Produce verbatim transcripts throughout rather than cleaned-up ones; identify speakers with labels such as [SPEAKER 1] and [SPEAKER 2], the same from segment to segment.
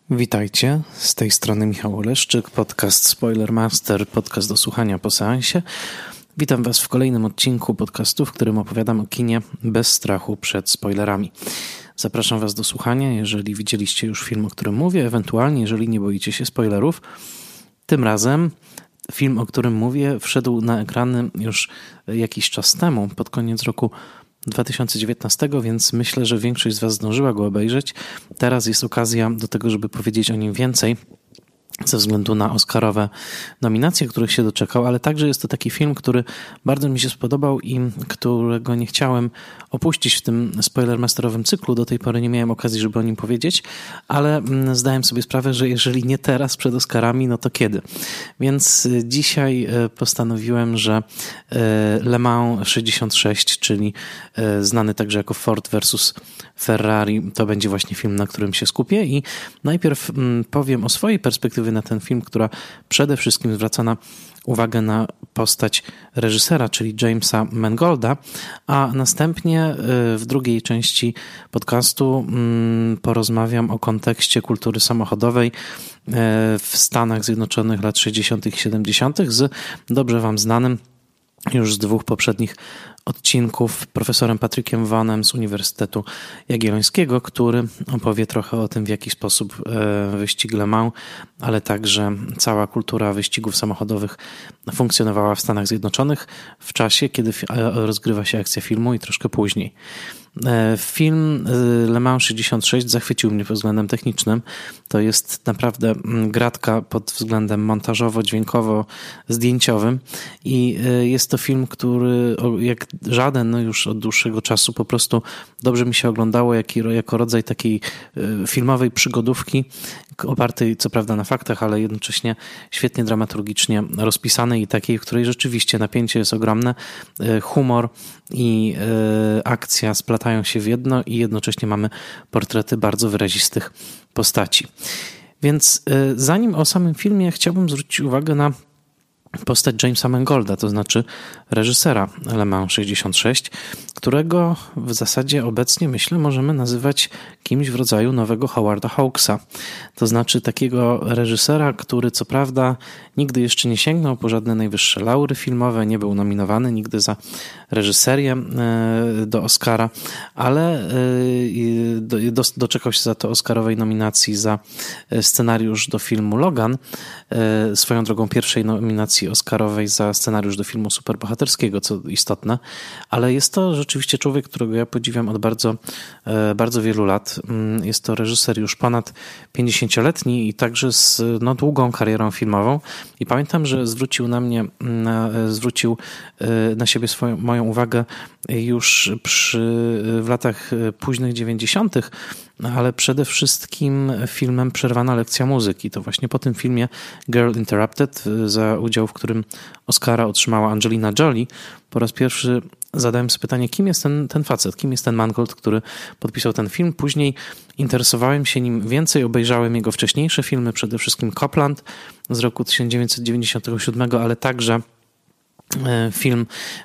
[SPEAKER 1] Witajcie, z tej strony Michał Oleszczyk, podcast Spoilermaster, podcast do słuchania po seansie. Witam Was w kolejnym odcinku podcastu, w którym opowiadam o kinie bez strachu przed spoilerami. Zapraszam Was do słuchania, jeżeli widzieliście już film, o którym mówię, ewentualnie jeżeli nie boicie się spoilerów. Tym razem film, o którym mówię, wszedł na ekrany już jakiś czas temu, pod koniec roku dwa tysiące dziewiętnastego, więc myślę, że większość z Was zdążyła go obejrzeć. Teraz jest okazja do tego, żeby powiedzieć o nim więcej, ze względu na oscarowe nominacje, których się doczekał, ale także jest to taki film, który bardzo mi się spodobał i którego nie chciałem opuścić w tym spoilermasterowym cyklu. Do tej pory nie miałem okazji, żeby o nim powiedzieć, ale zdałem sobie sprawę, że jeżeli nie teraz przed Oscarami, no to kiedy? Więc dzisiaj postanowiłem, że Le Mans sześćdziesiąt sześć, czyli znany także jako Ford versus Ferrari, to będzie właśnie film, na którym się skupię i najpierw powiem o swojej perspektywie na ten film, która przede wszystkim zwraca na uwagę na postać reżysera, czyli Jamesa Mangolda, a następnie w drugiej części podcastu porozmawiam o kontekście kultury samochodowej w Stanach Zjednoczonych lat sześćdziesiątych i siedemdziesiątych z dobrze Wam znanym już z dwóch poprzednich odcinków profesorem Patrykiem Vaughanem z Uniwersytetu Jagiellońskiego, który opowie trochę o tym, w jaki sposób wyścig Le Mans, ale także cała kultura wyścigów samochodowych funkcjonowała w Stanach Zjednoczonych w czasie, kiedy rozgrywa się akcja filmu i troszkę później. Film Le Mans sześćdziesiąt sześć zachwycił mnie pod względem technicznym. To jest naprawdę gratka pod względem montażowo-dźwiękowo-zdjęciowym i jest to film, który jak żaden no już od dłuższego czasu po prostu dobrze mi się oglądało jako rodzaj takiej filmowej przygodówki opartej co prawda na faktach, ale jednocześnie świetnie dramaturgicznie rozpisanej i takiej, w której rzeczywiście napięcie jest ogromne, humor i akcja splatają się w jedno i jednocześnie mamy portrety bardzo wyrazistych postaci. Więc zanim o samym filmie, chciałbym zwrócić uwagę na postać Jamesa Mangolda, to znaczy reżysera Le Mans sześćdziesiąt sześć, którego w zasadzie obecnie, myślę, możemy nazywać kimś w rodzaju nowego Howarda Hawksa. To znaczy takiego reżysera, który co prawda nigdy jeszcze nie sięgnął po żadne najwyższe laury filmowe, nie był nominowany nigdy za reżyserię do Oscara, ale doczekał się za to oscarowej nominacji za scenariusz do filmu Logan, swoją drogą pierwszej nominacji oscarowej za scenariusz do filmu superbohaterskiego, co istotne, ale jest to rzeczywiście człowiek, którego ja podziwiam od bardzo, bardzo wielu lat. Jest to reżyser już ponad pięćdziesięcioletni i także z no, długą karierą filmową i pamiętam, że zwrócił na mnie, na, zwrócił na siebie swoją, moją uwagę już przy, w latach późnych dziewięćdziesiątych, ale przede wszystkim filmem Przerwana lekcja muzyki. To właśnie po tym filmie Girl Interrupted, za udział w którym Oscara otrzymała Angelina Jolie, po raz pierwszy zadałem sobie pytanie, kim jest ten, ten facet, kim jest ten Mangold, który podpisał ten film. Później interesowałem się nim więcej, obejrzałem jego wcześniejsze filmy, przede wszystkim Copland z roku tysiąc dziewięćset dziewięćdziesiątego siódmego, ale także film,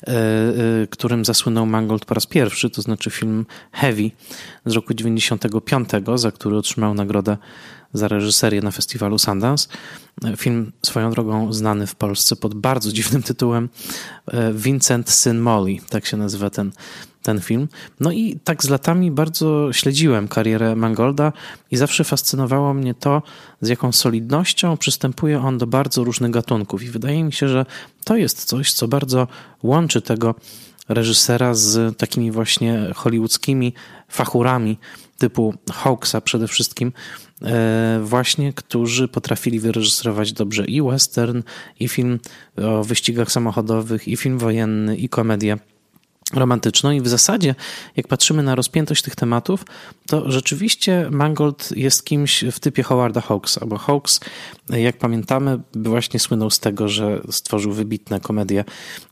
[SPEAKER 1] którym zasłynął Mangold po raz pierwszy, to znaczy film Heavy z roku dziewięćdziesiątego piątego, za który otrzymał nagrodę za reżyserię na festiwalu Sundance. Film swoją drogą znany w Polsce pod bardzo dziwnym tytułem Vincent syn Molly, tak się nazywa ten, ten film. No i tak z latami bardzo śledziłem karierę Mangolda i zawsze fascynowało mnie to, z jaką solidnością przystępuje on do bardzo różnych gatunków i wydaje mi się, że to jest coś, co bardzo łączy tego reżysera z takimi właśnie hollywoodzkimi fachurami typu Hawksa przede wszystkim, właśnie, którzy potrafili wyreżyserować dobrze i western, i film o wyścigach samochodowych, i film wojenny, i komedię romantyczną i w zasadzie, jak patrzymy na rozpiętość tych tematów, to rzeczywiście Mangold jest kimś w typie Howarda Hawksa, bo Hawks, jak pamiętamy, właśnie słynął z tego, że stworzył wybitne komedie,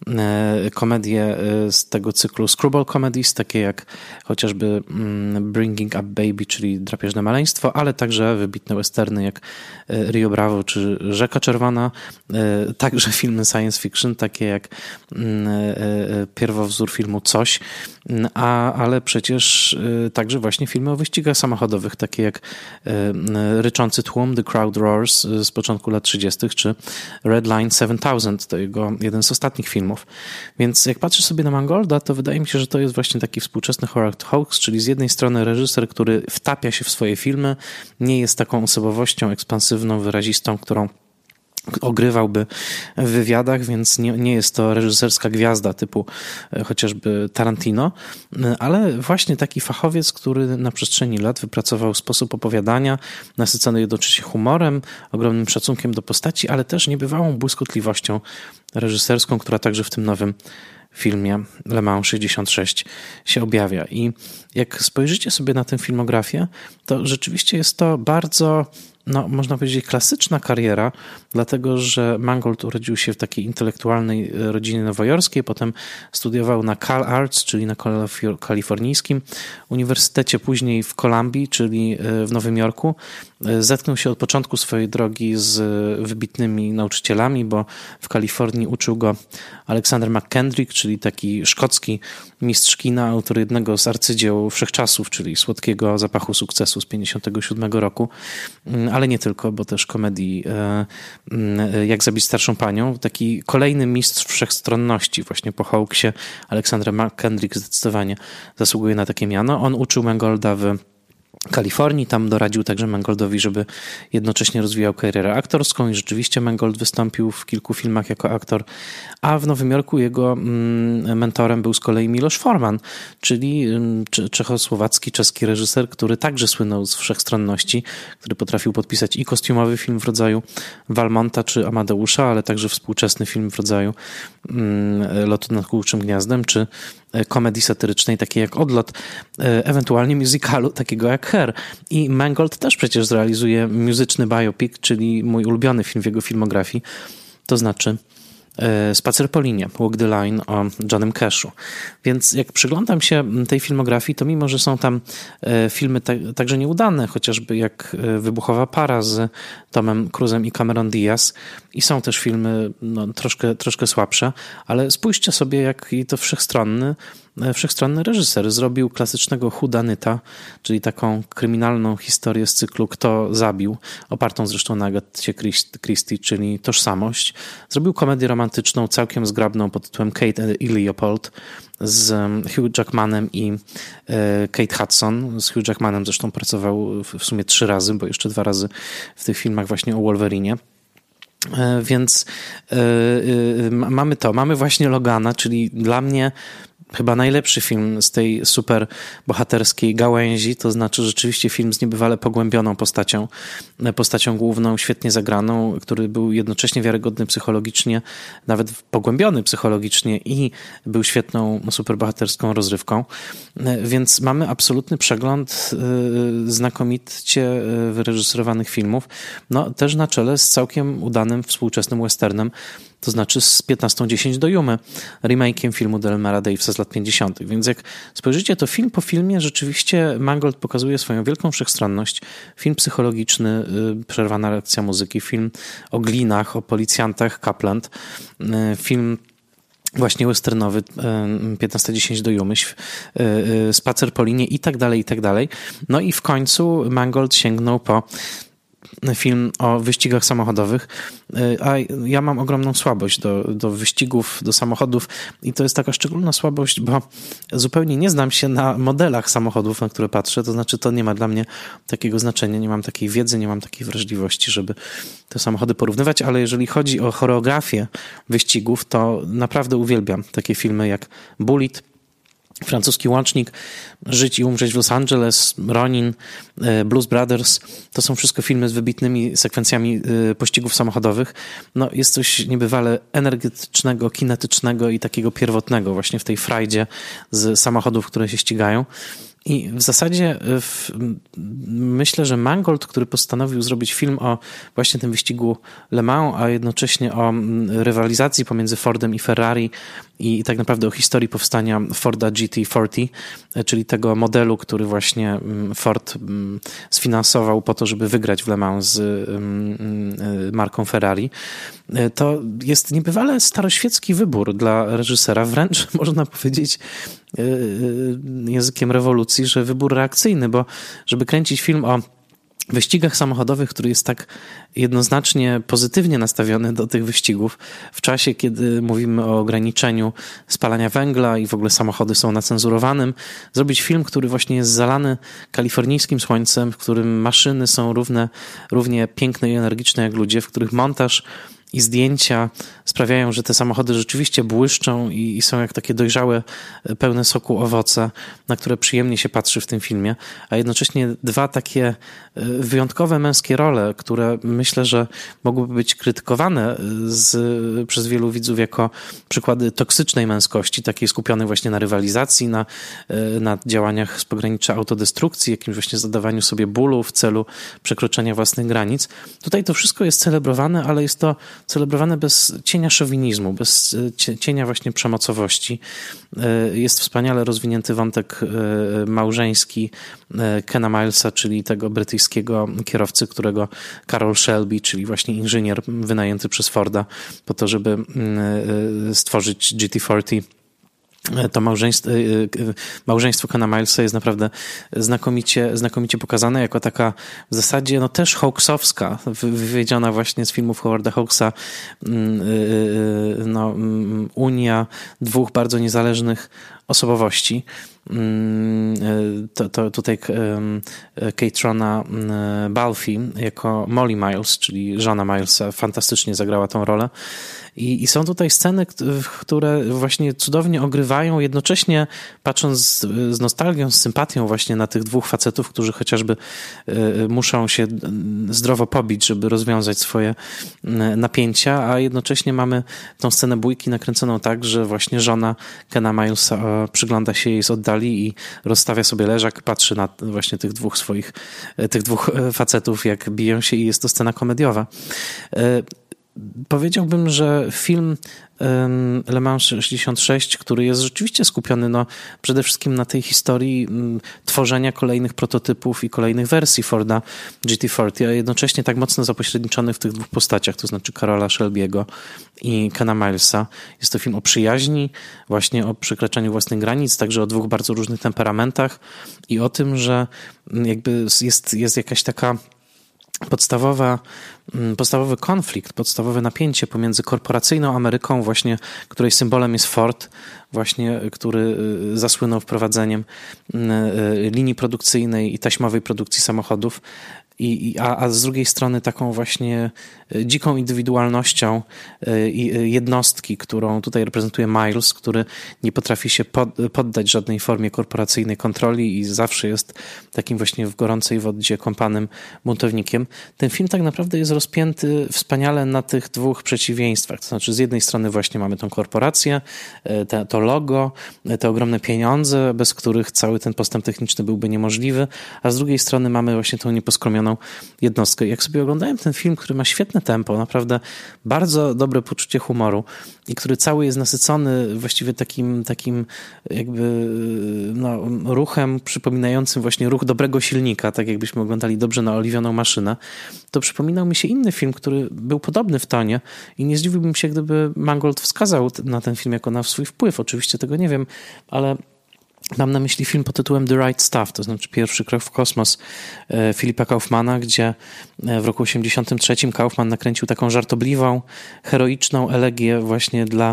[SPEAKER 1] komedie z tego cyklu Screwball Comedies, takie jak chociażby Bringing Up Baby, czyli Drapieżne maleństwo, ale także wybitne westerny jak Rio Bravo czy Rzeka Czerwona, także filmy science fiction, takie jak pierwowzór filmu filmu coś, a, ale przecież także właśnie filmy o wyścigach samochodowych, takie jak Ryczący tłum, The Crowd Roars z początku lat trzydziestych, czy Red Line siedem tysięcy, to jego jeden z ostatnich filmów. Więc jak patrzę sobie na Mangolda, to wydaje mi się, że to jest właśnie taki współczesny Howard Hawks, czyli z jednej strony reżyser, który wtapia się w swoje filmy, nie jest taką osobowością ekspansywną, wyrazistą, którą ogrywałby w wywiadach, więc nie, nie jest to reżyserska gwiazda typu chociażby Tarantino, ale właśnie taki fachowiec, który na przestrzeni lat wypracował sposób opowiadania, nasycony jednocześnie humorem, ogromnym szacunkiem do postaci, ale też niebywałą błyskotliwością reżyserską, która także w tym nowym filmie Le Mans sześćdziesiąt sześć się objawia. I jak spojrzycie sobie na tę filmografię, to rzeczywiście jest to bardzo, no można powiedzieć, klasyczna kariera, dlatego że Mangold urodził się w takiej intelektualnej rodzinie nowojorskiej, potem studiował na Cal Arts, czyli na kalifornijskim uniwersytecie, później w Kolumbii, czyli w Nowym Jorku. Zetknął się od początku swojej drogi z wybitnymi nauczycielami, bo w Kalifornii uczył go Alexander McKendrick, czyli taki szkocki mistrz kina, autor jednego z arcydzieł wszechczasów, czyli Słodkiego zapachu sukcesu z pięćdziesiątego siódmego roku, ale nie tylko, bo też komedii Jak zabić starszą panią. Taki kolejny mistrz wszechstronności, właśnie po Hawksie. Alexander McKendrick zdecydowanie zasługuje na takie miano. On uczył Mangolda w Kalifornii, tam doradził także Mangoldowi, żeby jednocześnie rozwijał karierę aktorską i rzeczywiście Mangold wystąpił w kilku filmach jako aktor, a w Nowym Jorku jego mentorem był z kolei Miloš Forman, czyli czechosłowacki, czeski reżyser, który także słynął z wszechstronności, który potrafił podpisać i kostiumowy film w rodzaju Walmonta czy Amadeusza, ale także współczesny film w rodzaju Lotu nad Kukułczym Gniazdem, czy komedii satyrycznej, takiej jak Odlot, ewentualnie musicalu, takiego jak Hair. I Mangold też przecież zrealizuje muzyczny biopic, czyli mój ulubiony film w jego filmografii, to znaczy Spacer po linie, Walk the Line o Johnem Cashu. Więc jak przyglądam się tej filmografii, to mimo, że są tam filmy ta- także nieudane, chociażby jak Wybuchowa para z Tomem Cruzem i Cameron Diaz, i są też filmy no, troszkę, troszkę słabsze, ale spójrzcie sobie, jaki to wszechstronny wszechstronny reżyser. Zrobił klasycznego whodunita, czyli taką kryminalną historię z cyklu Kto zabił, opartą zresztą na Agacie Christie, czyli Tożsamość. Zrobił komedię romantyczną całkiem zgrabną pod tytułem Kate i Leopold z Hugh Jackmanem i Kate Hudson. Z Hugh Jackmanem zresztą pracował w sumie trzy razy, bo jeszcze dwa razy w tych filmach właśnie o Wolverinie. Więc yy, mamy to. Mamy właśnie Logana, czyli dla mnie chyba najlepszy film z tej super bohaterskiej gałęzi, to znaczy rzeczywiście film z niebywale pogłębioną postacią, postacią główną, świetnie zagraną, który był jednocześnie wiarygodny psychologicznie, nawet pogłębiony psychologicznie i był świetną superbohaterską rozrywką. Więc mamy absolutny przegląd znakomicie wyreżyserowanych filmów, no też na czele z całkiem udanym współczesnym westernem, to znaczy z piętnastą dziesięć do Jumy, remake'iem filmu Delmara Davisa z lat pięćdziesiątych. Więc jak spojrzycie, to film po filmie rzeczywiście Mangold pokazuje swoją wielką wszechstronność. Film psychologiczny, przerwana lekcja muzyki, film o glinach, o policjantach Kapland, film właśnie westernowy, piętnasta dziesięć do Jumy, Spacer po linie i tak dalej, i tak dalej. No i w końcu Mangold sięgnął po film o wyścigach samochodowych, a ja mam ogromną słabość do, do wyścigów, do samochodów i to jest taka szczególna słabość, bo zupełnie nie znam się na modelach samochodów, na które patrzę, to znaczy to nie ma dla mnie takiego znaczenia, nie mam takiej wiedzy, nie mam takiej wrażliwości, żeby te samochody porównywać, ale jeżeli chodzi o choreografię wyścigów, to naprawdę uwielbiam takie filmy jak Bullitt, Francuski łącznik, Żyć i umrzeć w Los Angeles, Ronin, Blues Brothers, to są wszystko filmy z wybitnymi sekwencjami pościgów samochodowych. No, jest coś niebywale energetycznego, kinetycznego i takiego pierwotnego właśnie w tej frajdzie z samochodów, które się ścigają. I w zasadzie w, myślę, że Mangold, który postanowił zrobić film o właśnie tym wyścigu Le Mans, a jednocześnie o rywalizacji pomiędzy Fordem i Ferrari i tak naprawdę o historii powstania Forda G T czterdzieści, czyli tego modelu, który właśnie Ford sfinansował po to, żeby wygrać w Le Mans z marką Ferrari, to jest niebywale staroświecki wybór dla reżysera, wręcz można powiedzieć językiem rewolucji, że wybór reakcyjny, bo żeby kręcić film o wyścigach samochodowych, który jest tak jednoznacznie pozytywnie nastawiony do tych wyścigów, w czasie, kiedy mówimy o ograniczeniu spalania węgla i w ogóle samochody są na cenzurowanym, zrobić film, który właśnie jest zalany kalifornijskim słońcem, w którym maszyny są równe, równie piękne i energiczne jak ludzie, w których montaż i zdjęcia sprawiają, że te samochody rzeczywiście błyszczą i, i są jak takie dojrzałe, pełne soku owoce, na które przyjemnie się patrzy w tym filmie, a jednocześnie dwa takie wyjątkowe męskie role, które myślę, że mogłyby być krytykowane z, przez wielu widzów jako przykłady toksycznej męskości, takiej skupionej właśnie na rywalizacji, na, na działaniach z pogranicza autodestrukcji, jakimś właśnie zadawaniu sobie bólu w celu przekroczenia własnych granic. Tutaj to wszystko jest celebrowane, ale jest to celebrowane bez cienia szowinizmu, bez cienia właśnie przemocowości. Jest wspaniale rozwinięty wątek małżeński Kena Milesa, czyli tego brytyjskiego kierowcy, którego Carroll Shelby, czyli właśnie inżynier wynajęty przez Forda po to, żeby stworzyć G T czterdzieści. To małżeństwo, małżeństwo Kena Milesa jest naprawdę znakomicie, znakomicie pokazane jako taka w zasadzie no też Hawksowska, wywiedziona właśnie z filmów Howarda Hawksa, no, unia dwóch bardzo niezależnych osobowości. To, to tutaj Catrona Balfe jako Molly Miles, czyli żona Milesa, fantastycznie zagrała tą rolę. I, I są tutaj sceny, które właśnie cudownie ogrywają, jednocześnie patrząc z, z nostalgią, z sympatią właśnie na tych dwóch facetów, którzy chociażby muszą się zdrowo pobić, żeby rozwiązać swoje napięcia, a jednocześnie mamy tą scenę bójki nakręconą tak, że właśnie żona Kena Milesa przygląda się jej z oddali i rozstawia sobie leżak, patrzy na właśnie tych dwóch swoich, tych dwóch facetów, jak biją się i jest to scena komediowa. Powiedziałbym, że film Le Mans sześćdziesiąt sześć, który jest rzeczywiście skupiony no, przede wszystkim na tej historii tworzenia kolejnych prototypów i kolejnych wersji Forda G T czterdzieści, a jednocześnie tak mocno zapośredniczony w tych dwóch postaciach, to znaczy Carrolla Shelby'ego i Kena Milesa. Jest to film o przyjaźni, właśnie o przekraczaniu własnych granic, także o dwóch bardzo różnych temperamentach i o tym, że jakby jest, jest jakaś taka podstawowa, podstawowy konflikt, podstawowe napięcie pomiędzy korporacyjną Ameryką właśnie, której symbolem jest Ford, właśnie, który zasłynął wprowadzeniem linii produkcyjnej i taśmowej produkcji samochodów, I, a, a z drugiej strony taką właśnie dziką indywidualnością jednostki, którą tutaj reprezentuje Miles, który nie potrafi się pod, poddać żadnej formie korporacyjnej kontroli i zawsze jest takim właśnie w gorącej wodzie kąpanym buntownikiem. Ten film tak naprawdę jest rozpięty wspaniale na tych dwóch przeciwieństwach. To znaczy z jednej strony właśnie mamy tą korporację, te, to logo, te ogromne pieniądze, bez których cały ten postęp techniczny byłby niemożliwy, a z drugiej strony mamy właśnie tą nieposkromioną jednostkę. Jak sobie oglądałem ten film, który ma świetne tempo, naprawdę bardzo dobre poczucie humoru i który cały jest nasycony właściwie takim, takim jakby no, ruchem przypominającym właśnie ruch dobrego silnika, tak jakbyśmy oglądali dobrze naoliwioną maszynę, to przypominał mi się inny film, który był podobny w tonie i nie zdziwiłbym się, gdyby Mangold wskazał na ten film jako na swój wpływ. Oczywiście tego nie wiem, ale mam na myśli film pod tytułem The Right Stuff, to znaczy Pierwszy krok w kosmos Philippa Kaufmana, gdzie w roku osiemdziesiątym trzecim Kaufman nakręcił taką żartobliwą, heroiczną elegię właśnie dla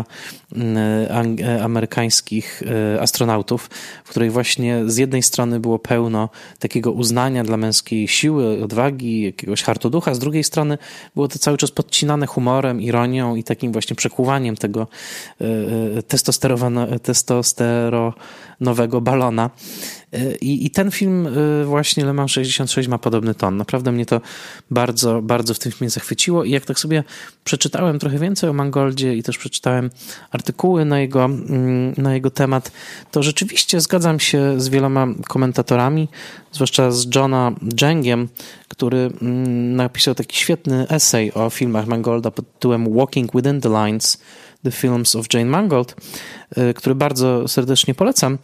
[SPEAKER 1] amerykańskich astronautów, w której właśnie z jednej strony było pełno takiego uznania dla męskiej siły, odwagi, jakiegoś hartoducha, z drugiej strony było to cały czas podcinane humorem, ironią i takim właśnie przekuwaniem tego testosteronowego balona. I, i ten film właśnie Le Mans sześćdziesiąt sześć ma podobny ton. Naprawdę mnie to bardzo, bardzo w tym filmie zachwyciło i jak tak sobie przeczytałem trochę więcej o Mangoldzie i też przeczytałem artykuły na jego, na jego temat, to rzeczywiście zgadzam się z wieloma komentatorami, zwłaszcza z Johna Jangiem, który napisał taki świetny esej o filmach Mangolda pod tytułem Walking Within the Lines, The Films of Jane Mangold, który bardzo serdecznie polecam.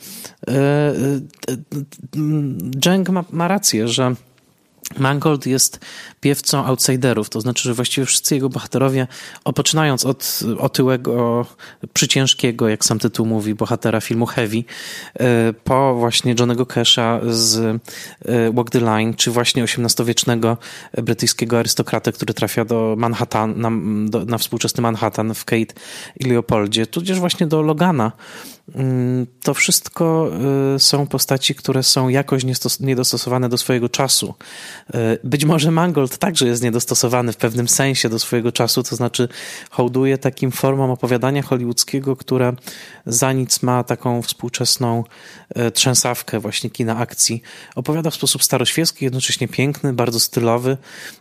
[SPEAKER 1] Jang ma, ma rację, że Mangold jest piewcą outsiderów, to znaczy, że właściwie wszyscy jego bohaterowie, poczynając od otyłego, przyciężkiego, jak sam tytuł mówi, bohatera filmu Heavy, po właśnie Johnnego Casha z Walk the Line, czy właśnie osiemnastowiecznego brytyjskiego arystokratę, który trafia do Manhattan, na, do, na współczesny Manhattan w Kate i Leopoldzie, tudzież właśnie do Logana. To wszystko są postaci, które są jakoś niedostosowane do swojego czasu. Być może Mangold także jest niedostosowany w pewnym sensie do swojego czasu, to znaczy hołduje takim formom opowiadania hollywoodzkiego, które za nic ma taką współczesną trzęsawkę właśnie kina akcji. Opowiada w sposób staroświecki, jednocześnie piękny, bardzo stylowy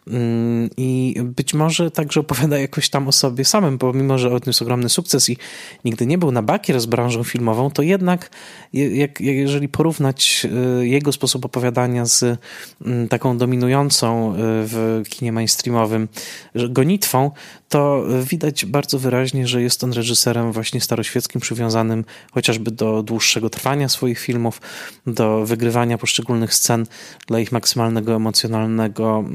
[SPEAKER 1] i być może także opowiada jakoś tam o sobie samym, bo mimo, że odniósł ogromny sukces i nigdy nie był na bakier z branżą filmową, to jednak jak, jeżeli porównać jego sposób opowiadania z taką dominującą w kinie mainstreamowym gonitwą, to widać bardzo wyraźnie, że jest on reżyserem właśnie staroświeckim, przywiązanym chociażby do dłuższego trwania swoich filmów, do wygrywania poszczególnych scen dla ich maksymalnego emocjonalnego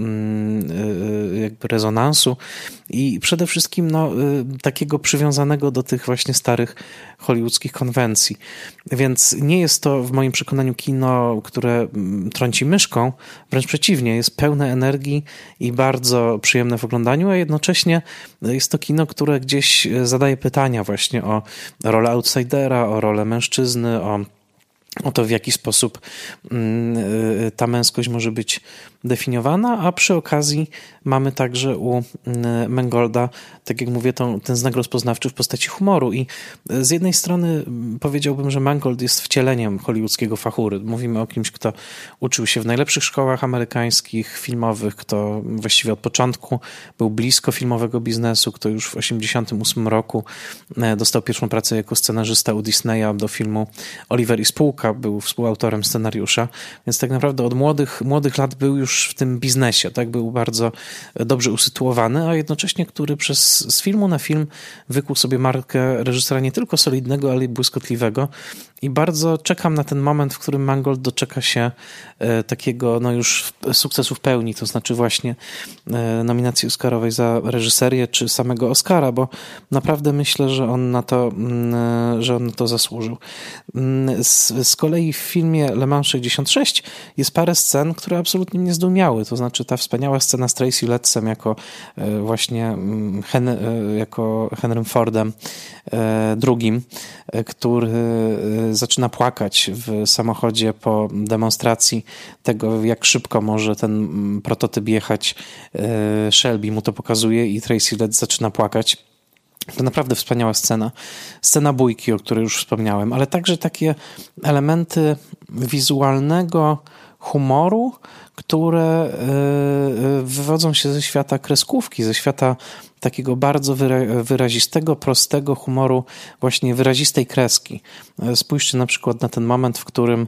[SPEAKER 1] jakby rezonansu i przede wszystkim no, takiego przywiązanego do tych właśnie starych hollywoodzkich konwencji. Więc nie jest to w moim przekonaniu kino, które trąci myszką, wręcz przeciwnie, jest pełne energii i bardzo przyjemne w oglądaniu, a jednocześnie jest to kino, które gdzieś zadaje pytania właśnie o rolę outsidera, o rolę mężczyzny, o o to, w jaki sposób ta męskość może być definiowana, a przy okazji mamy także u Mangolda, tak jak mówię, to, ten znak rozpoznawczy w postaci humoru i z jednej strony powiedziałbym, że Mangold jest wcieleniem hollywoodzkiego fachury. Mówimy o kimś, kto uczył się w najlepszych szkołach amerykańskich, filmowych, kto właściwie od początku był blisko filmowego biznesu, kto już w osiemdziesiątym ósmym roku dostał pierwszą pracę jako scenarzysta u Disneya do filmu Oliver i spółka, był współautorem scenariusza, więc tak naprawdę od młodych, młodych lat był już w tym biznesie, tak, był bardzo dobrze usytuowany, a jednocześnie, który przez, z filmu na film wykuł sobie markę reżysera nie tylko solidnego, ale i błyskotliwego i bardzo czekam na ten moment, w którym Mangold doczeka się e, takiego no już sukcesu w pełni, to znaczy właśnie e, nominacji Oscarowej za reżyserię, czy samego Oscara, bo naprawdę myślę, że on na to, m, że on na to zasłużył. Z, z kolei w filmie Le Mans sześćdziesiąt sześć jest parę scen, które absolutnie mnie zdumiały, to znaczy ta wspaniała scena z Tracy Lettsem jako e, właśnie Hen, e, jako Henrym Fordem e, drugim, e, który e, zaczyna płakać w samochodzie po demonstracji tego, jak szybko może ten prototyp jechać. Shelby mu to pokazuje i Tracy Letts zaczyna płakać. To naprawdę wspaniała scena. Scena bójki, o której już wspomniałem, ale także takie elementy wizualnego humoru, które wywodzą się ze świata kreskówki, ze świata takiego bardzo wyrazistego, prostego humoru, właśnie wyrazistej kreski. Spójrzcie na przykład na ten moment, w którym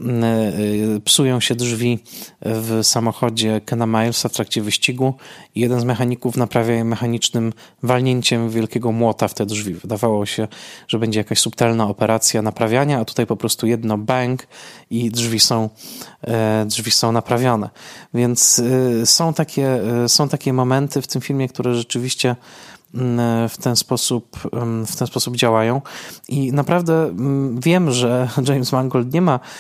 [SPEAKER 1] psują się drzwi w samochodzie Kena Milesa w trakcie wyścigu i jeden z mechaników naprawia je mechanicznym walnięciem wielkiego młota w te drzwi. Wydawało się, że będzie jakaś subtelna operacja naprawiania, a tutaj po prostu jedno bang i drzwi są, drzwi są naprawione. Więc są takie, są takie momenty w tym filmie, które rzeczywiście w ten sposób, w ten sposób działają i naprawdę wiem, że James Mangold nie ma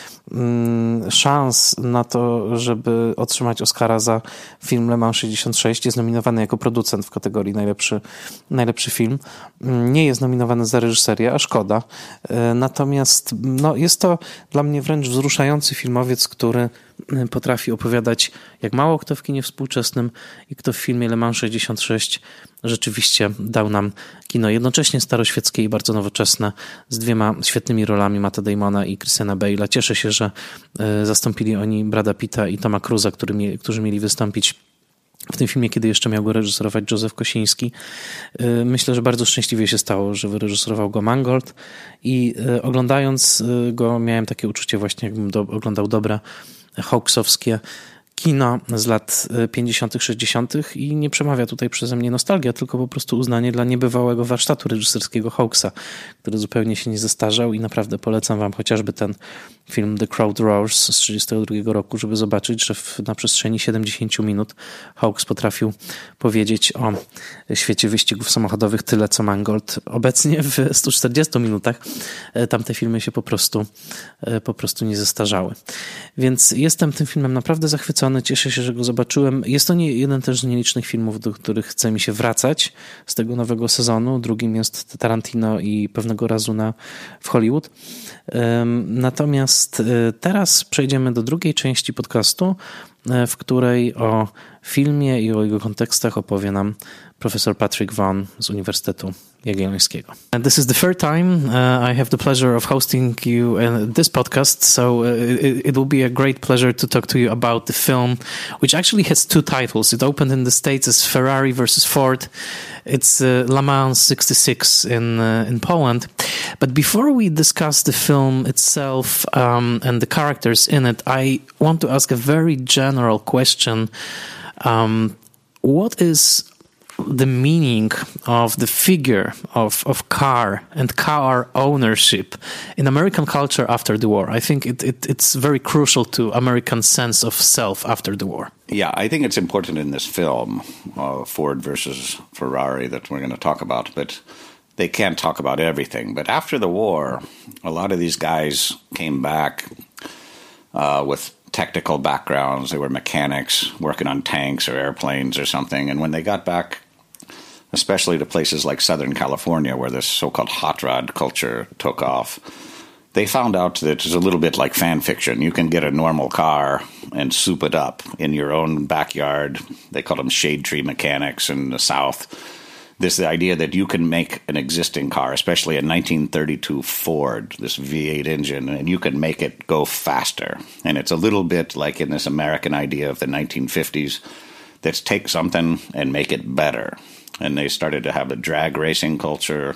[SPEAKER 1] szans na to, żeby otrzymać Oscara za film Le Mans sześćdziesiąt sześć. Jest nominowany jako producent w kategorii najlepszy, najlepszy film. Nie jest nominowany za reżyserię, a szkoda. Natomiast no, jest to dla mnie wręcz wzruszający filmowiec, który potrafi opowiadać jak mało kto w kinie współczesnym i kto w filmie Le Mans sześćdziesiąt sześć rzeczywiście dał nam kino jednocześnie staroświeckie i bardzo nowoczesne z dwiema świetnymi rolami Matta Damona i Christiana Bale'a. Cieszę się, że zastąpili oni Brada Pitta i Toma Cruza, który, którzy mieli wystąpić w tym filmie, kiedy jeszcze miał go reżyserować Józef Kosiński. Myślę, że bardzo szczęśliwie się stało, że wyreżyserował go Mangold i oglądając go miałem takie uczucie właśnie, jakbym do, oglądał dobre hawksowskie kino z lat pięćdziesiątych, sześćdziesiątych i nie przemawia tutaj przeze mnie nostalgia, tylko po prostu uznanie dla niebywałego warsztatu reżyserskiego Hawksa, który zupełnie się nie zestarzał i naprawdę polecam wam chociażby ten film The Crowd Roars z trzydziestego drugiego roku, żeby zobaczyć, że w, na przestrzeni siedemdziesięciu minut Hawks potrafił powiedzieć o świecie wyścigów samochodowych tyle, co Mangold obecnie w stu czterdziestu minutach. Tamte filmy się po prostu, po prostu nie zestarzały. Więc jestem tym filmem naprawdę zachwycony. Cieszę się, że go zobaczyłem. Jest to nie jeden też z nielicznych filmów, do których chce mi się wracać z tego nowego sezonu. Drugim jest Tarantino i Pewnego razu na, w Hollywood. Natomiast teraz przejdziemy do drugiej części podcastu, w której o filmie i o jego kontekstach opowie nam profesor Patrick Vaughn z Uniwersytetu Jagiellońskiego. And this is the third time uh, I have the pleasure of hosting you in this podcast, so uh, it, it will be a great pleasure to talk to you about the film, which actually has two titles. It opened in the States as Ferrari versus Ford. It's uh, Le Mans sixty-six in uh, in Poland. But before we discuss the film itself um, and the characters in it, I want to ask a very general question. Um, what is the meaning of the figure of, of car and car ownership in American culture after the war? I think it, it, it's very crucial to American sense of self after the war.
[SPEAKER 2] Yeah, I think it's important in this film, uh, Ford versus Ferrari, that we're going to talk about, but they can't talk about everything. But after the war, a lot of these guys came back uh, with technical backgrounds. They were mechanics working on tanks or airplanes or something. And when they got back, especially to places like Southern California, where this so-called hot rod culture took off, they found out that it's a little bit like fan fiction. You can get a normal car and soup it up in your own backyard. They call them shade tree mechanics in the South. This the idea that you can make an existing car, especially a nineteen thirty-two Ford, this V eight engine, and you can make it go faster. And it's a little bit like in this American idea of the nineteen fifties, that's take something and make it better. And they started to have a drag racing culture.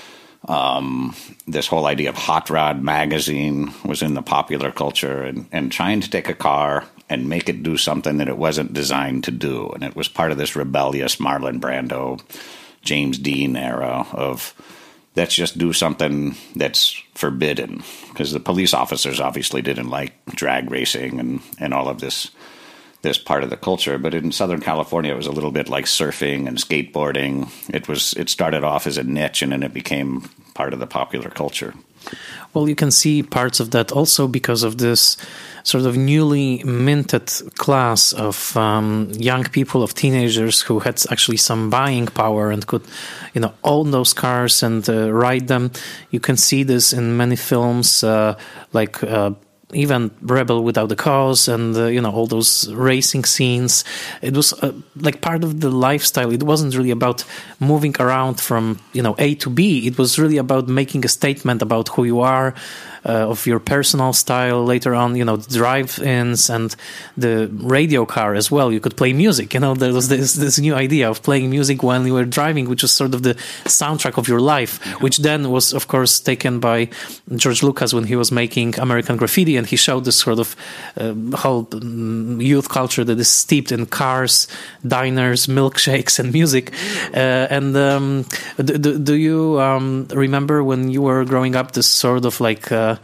[SPEAKER 2] Um, this whole idea of Hot Rod magazine was in the popular culture, and, and trying to take a car and make it do something that it wasn't designed to do. And it was part of this rebellious Marlon Brando, James Dean era of let's just do something that's forbidden. Because the police officers obviously didn't like drag racing and, and all of this this part of the culture. But in Southern California, it was a little bit like surfing and skateboarding. It was it started off as a niche, and then it became part of the popular culture.
[SPEAKER 1] Well, you can see parts of that also because of this sort of newly minted class of um, young people, of teenagers who had actually some buying power and could, you know, own those cars and uh, ride them. You can see this in many films, uh, like uh, even Rebel Without a Cause and, uh, you know, all those racing scenes. It was uh, like part of the lifestyle. It wasn't really about moving around from, you know, A to B. It was really about making a statement about who you are, uh, of your personal style. Later on, you know, the drive-ins and the radio car as well. You could play music. You know, there was this, this new idea of playing music when you were driving, which was sort of the soundtrack of your life, which then was, of course, taken by George Lucas when he was making American Graffiti. And he showed this sort of uh, whole um, youth culture that is steeped in cars, diners, milkshakes, and music. Uh, and um, do, do you um, remember when you were growing up this sort of like uh,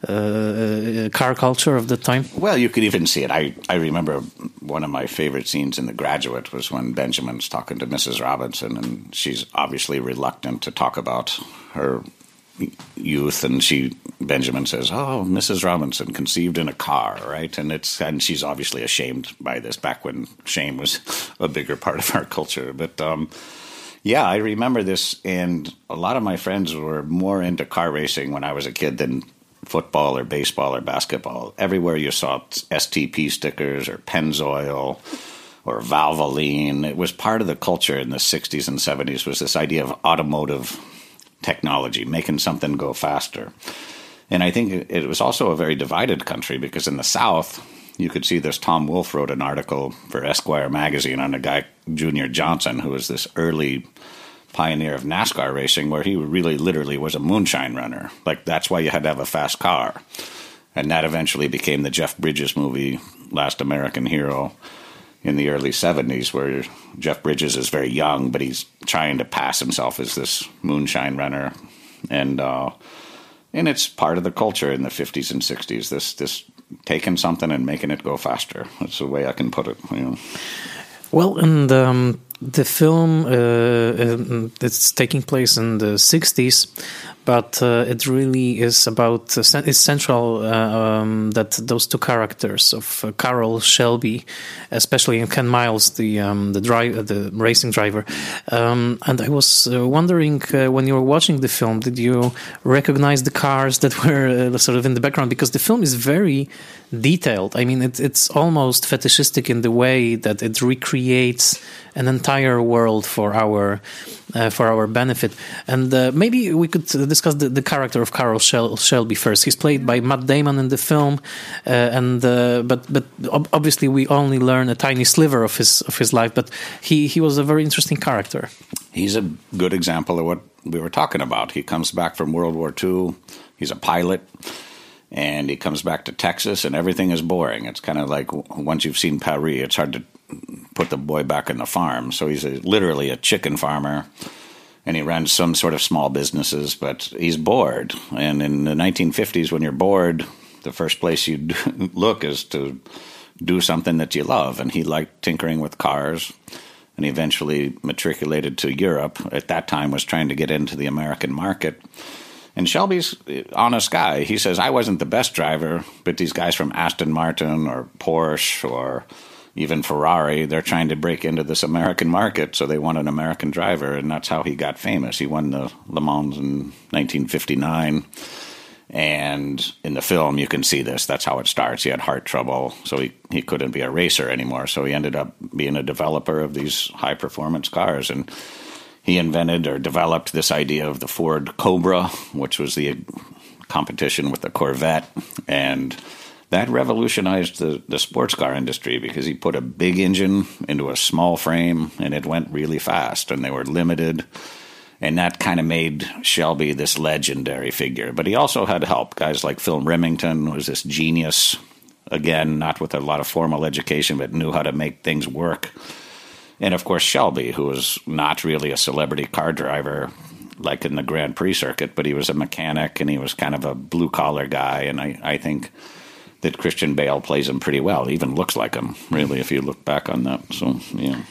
[SPEAKER 1] uh, car culture of the time?
[SPEAKER 2] Well, you could even see it. I, I remember one of my favorite scenes in The Graduate was when Benjamin's talking to Missus Robinson, and she's obviously reluctant to talk about her youth, and she Benjamin says, "Oh, Missus Robinson conceived in a car," right? And it's and she's obviously ashamed by this back when shame was a bigger part of our culture. But um, yeah, I remember this, and a lot of my friends were more into car racing when I was a kid than football or baseball or basketball, everywhere you saw S T P stickers or Pennzoil or Valvoline. It was part of the culture in the sixties and seventies, was this idea of automotive technology, making something go faster. And I think it was also a very divided country, because in the South, you could see this. Tom Wolfe wrote an article for Esquire magazine on a guy, Junior Johnson, who was this early pioneer of NASCAR racing, where he really literally was a moonshine runner. Like, that's why you had to have a fast car. And that eventually became the Jeff Bridges movie, Last American Hero, in the early seventies, where Jeff Bridges is very young, but he's trying to pass himself as this moonshine runner. And uh, and it's part of the culture in the fifties and sixties, this this taking something and making it go faster. That's the way I can put it. You know.
[SPEAKER 1] Well, and um, the film, uh, it's taking place in the sixties, but uh, it really is about, uh, it's central uh, um, that those two characters of uh, Carroll Shelby, especially in Ken Miles, the um, the drive, the racing driver. Um, and I was uh, wondering, uh, when you were watching the film, did you recognize the cars that were uh, sort of in the background? Because the film is very detailed. I mean, it, it's almost fetishistic in the way that it recreates an entire world for our uh, for our benefit. And uh, maybe we could discuss the, the character of Carroll Shel- Shelby first. He's played by Matt Damon in the film, uh, and uh, but but ob- obviously we only learn a tiny sliver of his of his life. But he he was a very interesting character.
[SPEAKER 2] He's a good example of what we were talking about. He comes back from World War Two. He's a pilot. And he comes back to Texas, and everything is boring. It's kind of like, once you've seen Paris, it's hard to put the boy back in the farm. So he's a, literally a chicken farmer, and he runs some sort of small businesses, but he's bored. And in the nineteen fifties, when you're bored, the first place you look is to do something that you love. And he liked tinkering with cars, and he eventually matriculated to Europe. At that time, was trying to get into the American market. And Shelby's an honest guy. He says, I wasn't the best driver, but these guys from Aston Martin or Porsche or even Ferrari, they're trying to break into this American market, so they want an American driver, and that's how he got famous. He won the Le Mans in nineteen fifty-nine, and in the film you can see this. That's how it starts. He had heart trouble, so he, he couldn't be a racer anymore, so he ended up being a developer of these high-performance cars, and he invented or developed this idea of the Ford Cobra, which was the competition with the Corvette. And that revolutionized the, the sports car industry, because he put a big engine into a small frame, and it went really fast, and they were limited. And that kind of made Shelby this legendary figure. But he also had help. Guys like Phil Remington was this genius, again, not with a lot of formal education, but knew how to make things work. And, of course, Shelby, who was not really a celebrity car driver like in the Grand Prix circuit, but he was a mechanic, and he was kind of a blue-collar guy. And I, I think that Christian Bale plays him pretty well. He even looks like him, really, if you look back on that. So, yeah.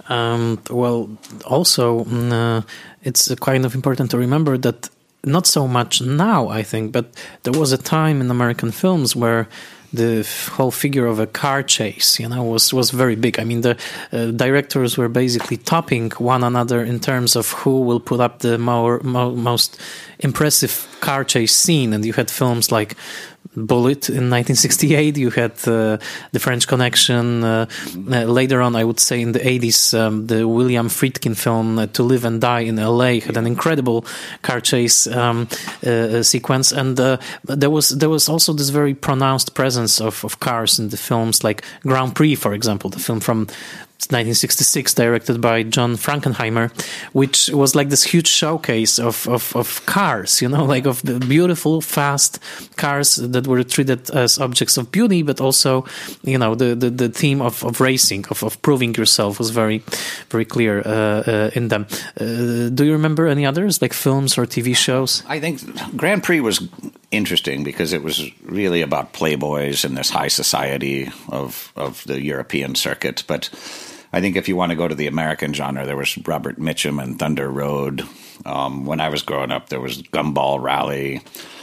[SPEAKER 1] Um, well, also, uh, it's kind of important to remember that not so much now, I think, but there was a time in American films where the whole figure of a car chase, you know, was, was very big. I mean, the uh, directors were basically topping one another in terms of who will put up the more, mo- most impressive car chase scene. And you had films like Bullitt in nineteen sixty-eight. You had uh, The French Connection. Uh, uh, later on, I would say in the eighties, um, the William Friedkin film uh, To Live and Die in L A had an incredible car chase um, uh, sequence. And uh, there was there was also this very pronounced presence of, of cars in the films, like Grand Prix, for example, the film from nineteen sixty-six, directed by John Frankenheimer, which was like this huge showcase of, of, of cars, you know, like of the beautiful, fast cars that were treated as objects of beauty, but also, you know, the, the, the theme of, of racing, of, of proving yourself was very, very clear uh, uh, in them. Uh, do you remember any others, like films or T V shows?
[SPEAKER 2] I think Grand Prix was interesting because it was really about playboys and this high society of, of the European circuit, but I think if you want to go to the American genre, there was Robert Mitchum and Thunder Road. Um, when I was growing up, there was Gumball Rally.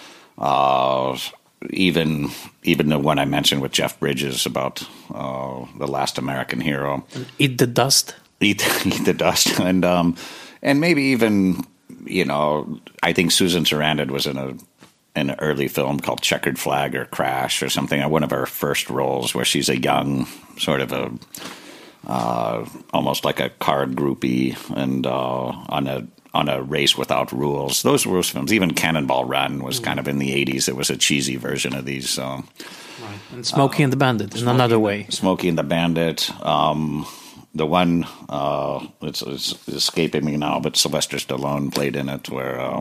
[SPEAKER 2] Uh, even even the one I mentioned with Jeff Bridges about uh, The Last American Hero.
[SPEAKER 1] Eat the Dust.
[SPEAKER 2] Eat, eat the Dust. And, um, and maybe even, you know, I think Susan Sarandon was in a an early film called Checkered Flag or Crash or something, one of her first roles where she's a young, sort of a, uh, almost like a card groupie and uh, on a on a race without rules. Those were films. Even Cannonball Run was kind of in the eighties. It was a cheesy version of these. Uh,
[SPEAKER 1] right. And Smokey uh, and the Bandit in
[SPEAKER 2] Smokey,
[SPEAKER 1] another way.
[SPEAKER 2] Smokey and the Bandit. Um, the one, uh, it's, it's escaping me now, but Sylvester Stallone played in it where... Uh,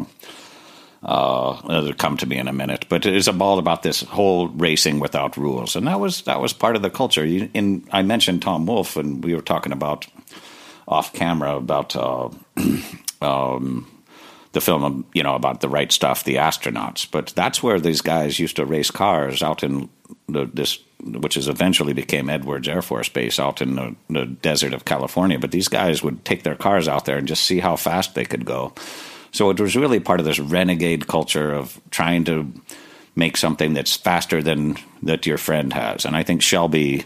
[SPEAKER 2] Uh, it'll come to me in a minute, but it is all about this whole racing without rules, and that was that was part of the culture. You, in I mentioned Tom Wolfe, and we were talking about off camera about uh, um, the film, you know, about the right stuff, the astronauts. But that's where these guys used to race cars out in the, this, which is eventually became Edwards Air Force Base out in the, the desert of California. But these guys would take their cars out there and just see how fast they could go. So it was really part of this renegade culture of trying to make something that's faster than that your friend has. And I think Shelby,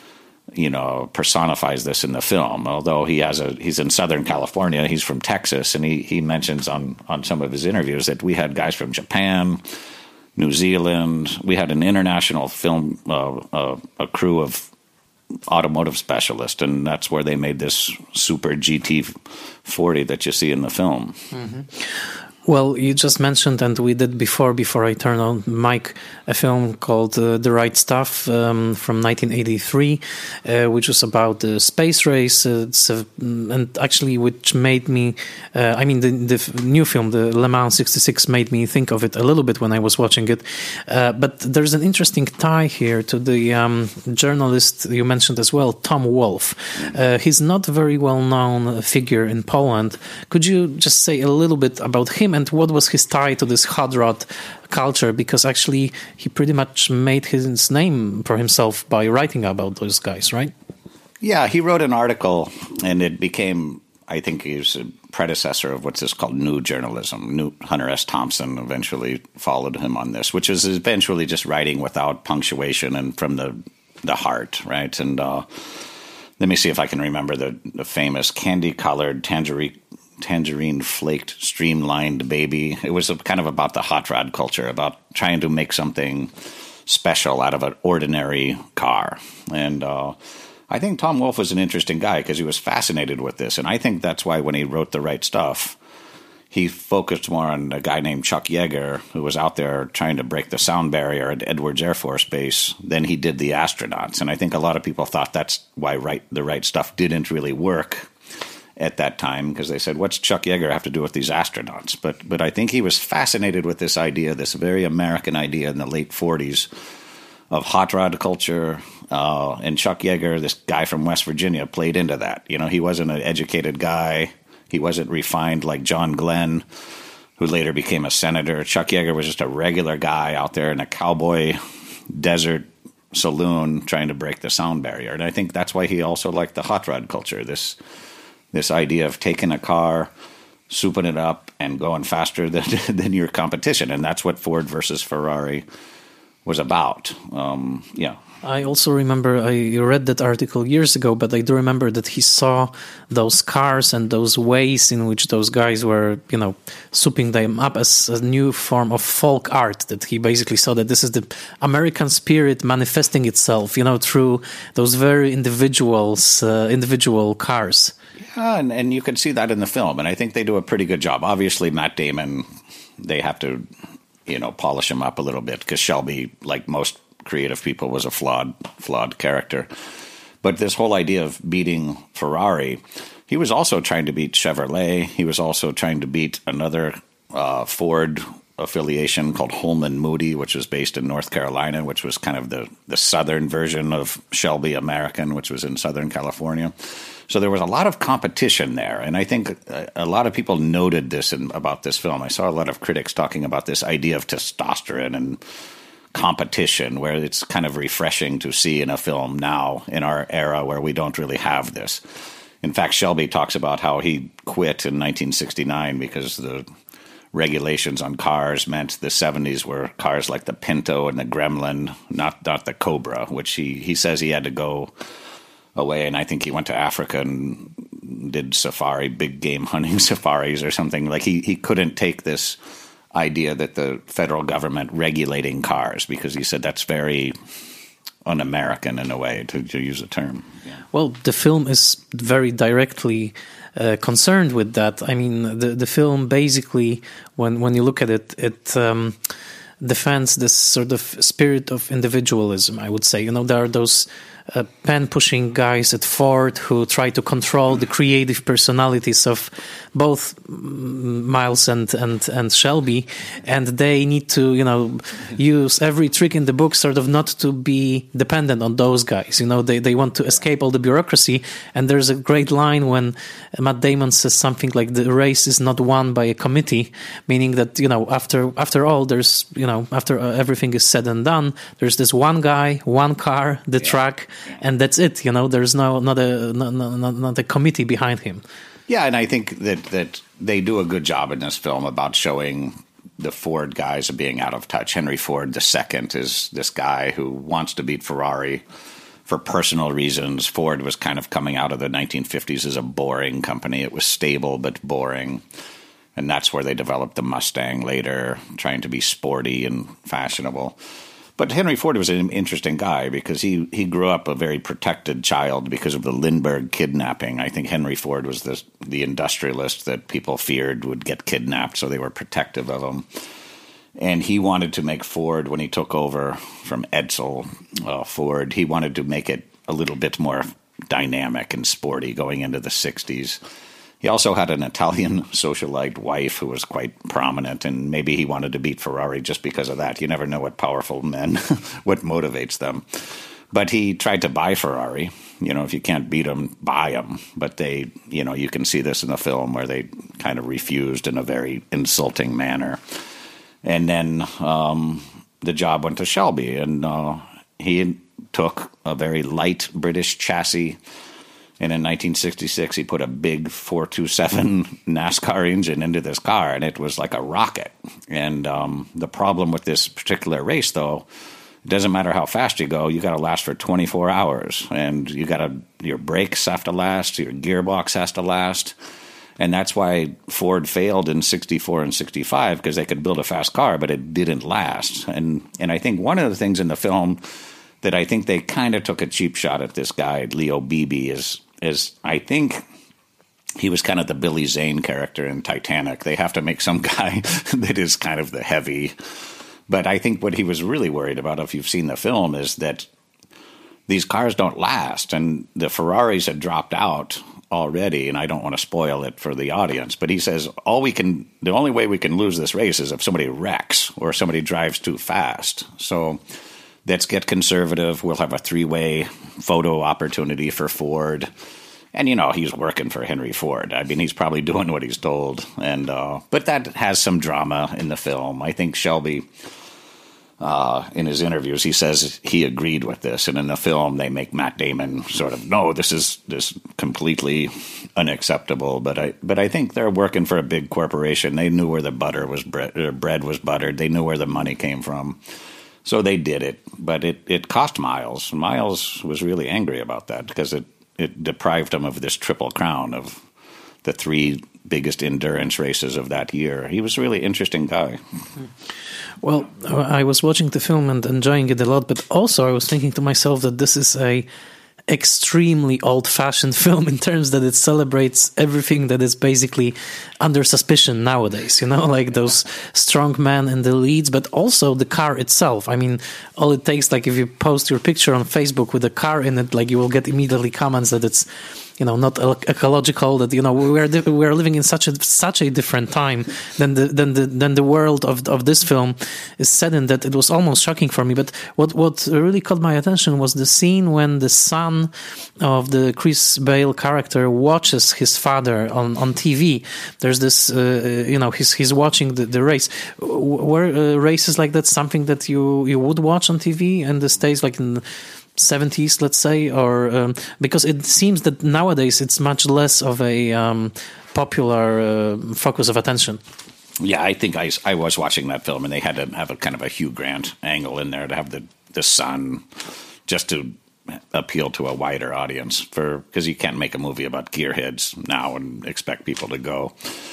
[SPEAKER 2] you know, personifies this in the film. Although he has a, he's in Southern California, he's from Texas, and he, he mentions on, on some of his interviews that we had guys from Japan, New Zealand. We had an international film, uh, uh, a crew of automotive specialist, and that's where they made this super G T forty that you see in the film.
[SPEAKER 1] Mm-hmm. Well, you just mentioned, and we did before, before I turned on mic, a film called uh, The Right Stuff um, from nineteen eighty-three, uh, which was about the space race, uh, it's a, and actually which made me, uh, I mean, the, the new film, the Le Mans sixty-six, made me think of it a little bit when I was watching it. Uh, but there's an interesting tie here to the um, journalist you mentioned as well, Tom Wolfe. Uh, he's not a very well-known figure in Poland. Could you just say a little bit about him? And what was his tie to this hot rod culture? Because actually he pretty much made his name for himself by writing about those guys, right?
[SPEAKER 2] Yeah, he wrote an article, and it became, I think he was a predecessor of what's this called new journalism. New Hunter S. Thompson eventually followed him on this, which is eventually just writing without punctuation and from the, the heart, right? And uh, let me see if I can remember the, the famous candy-colored tangerine tangerine flaked streamlined baby. It was a, kind of about the hot rod culture, about trying to make something special out of an ordinary car. And uh, I think Tom Wolfe was an interesting guy because he was fascinated with this. And I think that's why when he wrote The Right Stuff, he focused more on a guy named Chuck Yeager, who was out there trying to break the sound barrier at Edwards Air Force Base, than he did the astronauts. And I think a lot of people thought that's why right, The Right Stuff didn't really work at that time, because they said, what's Chuck Yeager have to do with these astronauts? But but I think he was fascinated with this idea, this very American idea in the late forties of hot rod culture. Uh, and Chuck Yeager, this guy from West Virginia, played into that. You know, he wasn't an educated guy. He wasn't refined like John Glenn, who later became a senator. Chuck Yeager was just a regular guy out there in a cowboy desert saloon trying to break the sound barrier. And I think that's why he also liked the hot rod culture, this This idea of taking a car, souping it up, and going faster than than your competition. And that's what Ford versus Ferrari was about. Um, yeah.
[SPEAKER 1] I also remember, I read that article years ago, but I do remember that he saw those cars and those ways in which those guys were, you know, souping them up as a new form of folk art, that he basically saw that this is the American spirit manifesting itself, you know, through those very individuals, uh, individual cars.
[SPEAKER 2] Yeah, and, and you can see that in the film, and I think they do a pretty good job. Obviously, Matt Damon, they have to, you know, polish him up a little bit, because Shelby, like most creative people, was a flawed, flawed character. But this whole idea of beating Ferrari, he was also trying to beat Chevrolet. He was also trying to beat another uh, Ford affiliation called Holman Moody, which was based in North Carolina, which was kind of the, the southern version of Shelby American, which was in Southern California. So there was a lot of competition there, and I think a lot of people noted this in, about this film. I saw a lot of critics talking about this idea of testosterone and competition, where it's kind of refreshing to see in a film now, in our era, where we don't really have this. In fact, Shelby talks about how he quit in nineteen sixty-nine because the regulations on cars meant the seventies were cars like the Pinto and the Gremlin, not not the Cobra, which he, he says he had to go away, and I think he went to Africa and did safari, big game hunting safaris or something. Like he, he couldn't take this idea that the federal government regulating cars, because he said that's very un-American in a way, to, to use a term. Yeah.
[SPEAKER 1] Well, the film is very directly uh, concerned with that. I mean, the the film basically, when when you look at it, it um, defends this sort of spirit of individualism, I would say. You know, there are those uh, pen-pushing guys at Ford who try to control the creative personalities of both Miles and, and, and Shelby, and they need to, you know, use every trick in the book sort of not to be dependent on those guys. You know, they, they want to escape all the bureaucracy, and there's a great line when Matt Damon says something like the race is not won by a committee, meaning that, you know, after after all, there's, you know, after everything is said and done, there's this one guy, one car, the yeah. track, and that's it. You know, there's no not a not, not, not a committee behind him.
[SPEAKER 2] Yeah, and I think that, that they do a good job in this film about showing the Ford guys being out of touch. Henry Ford the Second is this guy who wants to beat Ferrari for personal reasons. Ford was kind of coming out of the nineteen fifties as a boring company. It was stable but boring, and that's where they developed the Mustang later, trying to be sporty and fashionable. But Henry Ford was an interesting guy because he, he grew up a very protected child because of the Lindbergh kidnapping. I think Henry Ford was the, the industrialist that people feared would get kidnapped, so they were protective of him. And he wanted to make Ford, when he took over from Edsel uh, Ford, he wanted to make it a little bit more dynamic and sporty going into the sixties. He also had an Italian socialite wife who was quite prominent, and maybe he wanted to beat Ferrari just because of that. You never know what powerful men, what motivates them. But he tried to buy Ferrari. You know, if you can't beat them, buy them. But they, you know, you can see this in the film where they kind of refused in a very insulting manner. And then um, the job went to Shelby, and uh, he took a very light British chassis. And in nineteen sixty-six, he put a big four twenty-seven NASCAR engine into this car, and it was like a rocket. And um, the problem with this particular race, though, it doesn't matter how fast you go, you got to last for twenty-four hours. And you got to, your brakes have to last, your gearbox has to last. And that's why Ford failed in sixty-four and sixty-five, because they could build a fast car, but it didn't last. And and I think one of the things in the film that I think they kind of took a cheap shot at this guy, Leo Beebe, is, is I think he was kind of the Billy Zane character in Titanic. They have to make some guy that is kind of the heavy. But I think what he was really worried about, if you've seen the film, is that these cars don't last. And the Ferraris had dropped out already, and I don't want to spoil it for the audience, but he says all we can, the only way we can lose this race is if somebody wrecks or somebody drives too fast. So let's get conservative. We'll have a three-way photo opportunity for Ford. And, you know, he's working for Henry Ford. I mean, he's probably doing what he's told. And uh, but that has some drama in the film. I think Shelby, uh, in his interviews, he says he agreed with this. And in the film, they make Matt Damon sort of, no, this is this completely unacceptable. But I but I think they're working for a big corporation. They knew where the butter was bread, or bread was buttered. They knew where the money came from. So they did it, but it, it cost Miles. Miles was really angry about that because it, it deprived him of this triple crown of the three biggest endurance races of that year. He was a really interesting guy.
[SPEAKER 1] Well, I was watching the film and enjoying it a lot, but also I was thinking to myself that this is a extremely old-fashioned film in terms that it celebrates everything that is basically under suspicion nowadays, you know, like those strong men in the leads, but also the car itself. I mean, all it takes, like if you post your picture on Facebook with a car in it, like you will get immediately comments that it's, you know, not ecological, that, you know, we're we're living in such a such a different time than the than the than the world of of this film is set in, that it was almost shocking for me. But what what really caught my attention was the scene when the son of the Chris Bale character watches his father on, on T V. There's this, uh, you know, he's he's watching the, the race. Were uh, races like that something that you you would watch on T V in the States, like in seventies, let's say, or um, because it seems that nowadays it's much less of a um, popular uh, focus of attention.
[SPEAKER 2] Yeah, I think I, I was watching that film, and they had to have a kind of a Hugh Grant angle in there to have the, the son, just to appeal to a wider audience, for because you can't make a movie about gearheads now and expect people to go.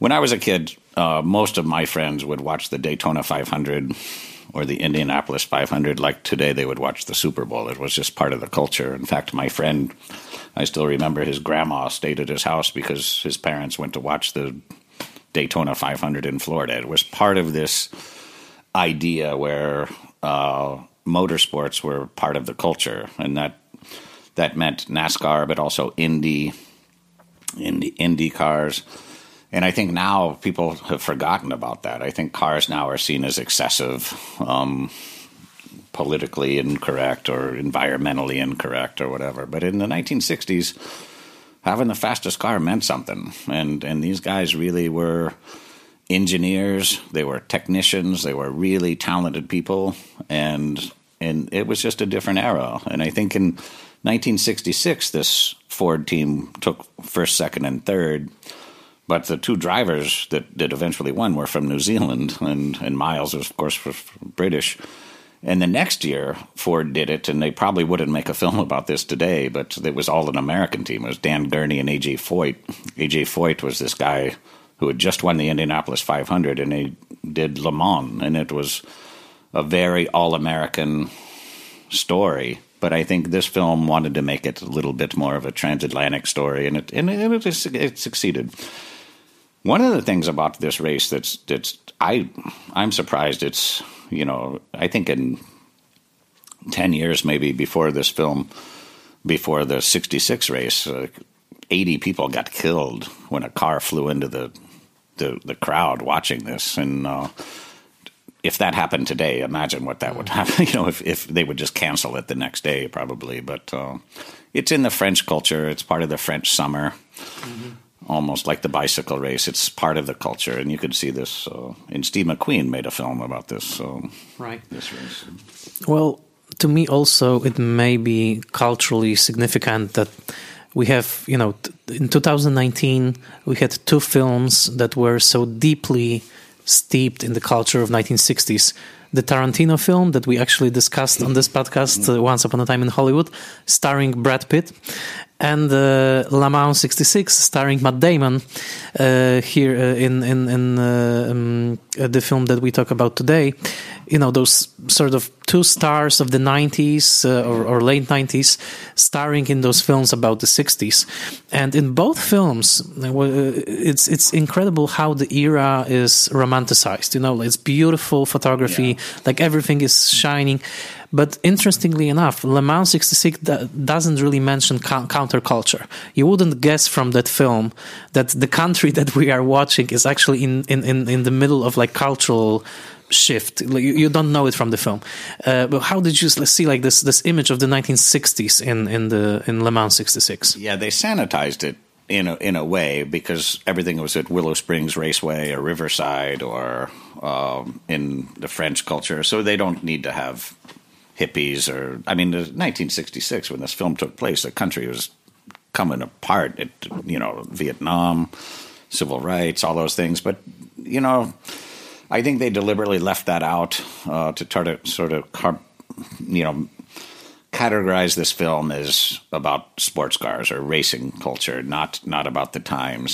[SPEAKER 2] when I was a kid, uh, most of my friends would watch the Daytona five hundred or the Indianapolis five hundred. Like today, they would watch the Super Bowl. It was just part of the culture. In fact, my friend, I still remember his grandma stayed at his house because his parents went to watch the Daytona five hundred in Florida. It was part of this idea where uh, motorsports were part of the culture, and that that meant NASCAR, but also Indy, Indy, Indy cars. And I think now people have forgotten about that. I think cars now are seen as excessive, um, politically incorrect or environmentally incorrect or whatever. But in the nineteen sixties, having the fastest car meant something. And, and these guys really were engineers. They were technicians. They were really talented people. And, and it was just a different era. And I think in nineteen sixty-six, this Ford team took first, second, and third. But the two drivers that, that eventually won were from New Zealand, and, and Miles, of course, was British. And the next year, Ford did it, and they probably wouldn't make a film about this today, but it was all an American team. It was Dan Gurney and A J Foyt. A J Foyt was this guy who had just won the Indianapolis five hundred, and he did Le Mans, and it was a very all-American story. But I think this film wanted to make it a little bit more of a transatlantic story, and it and it, it, it succeeded. One of the things about this race that's that's I I'm surprised it's you know I think in ten years maybe before this film, before the sixty-six race, uh, eighty people got killed when a car flew into the the, the crowd watching this, and uh, if that happened today, imagine what that would happen. You know, if if they would just cancel it the next day, probably. But uh, it's in the French culture. It's part of the French summer. Mm-hmm. Almost like the bicycle race. It's part of the culture, and you could see this. Uh, and Steve McQueen made a film about this. So,
[SPEAKER 1] right.
[SPEAKER 2] This race.
[SPEAKER 1] Well, to me also, it may be culturally significant that we have, you know, in two thousand nineteen, we had two films that were so deeply steeped in the culture of nineteen sixties. The Tarantino film that we actually discussed on this podcast, uh, Once Upon a Time in Hollywood, starring Brad Pitt, and uh, Le Mans sixty-six, starring Matt Damon, uh, here uh, in in, in uh, um, uh, the film that we talk about today. You know, those sort of two stars of the nineties uh, or, or late nineties starring in those films about the sixties. And in both films, it's it's incredible how the era is romanticized. You know, it's beautiful photography, yeah. Like everything is shining. But interestingly enough, Le Mans sixty-six doesn't really mention counterculture. You wouldn't guess from that film that the country that we are watching is actually in, in, in, in the middle of like cultural shift. You, you don't know it from the film. Uh, but how did you see like this this image of the nineteen sixties in in the in Le Mans sixty-six?
[SPEAKER 2] Yeah, they sanitized it in a, in a way because everything was at Willow Springs Raceway or Riverside or um, in the French culture, so they don't need to have hippies or I mean, the nineteen sixty-six when this film took place, the country was coming apart. It, you know, Vietnam, civil rights, all those things, but you know. I think they deliberately left that out uh, to try to sort of, you know, categorize this film as about sports cars or racing culture, not not about the times.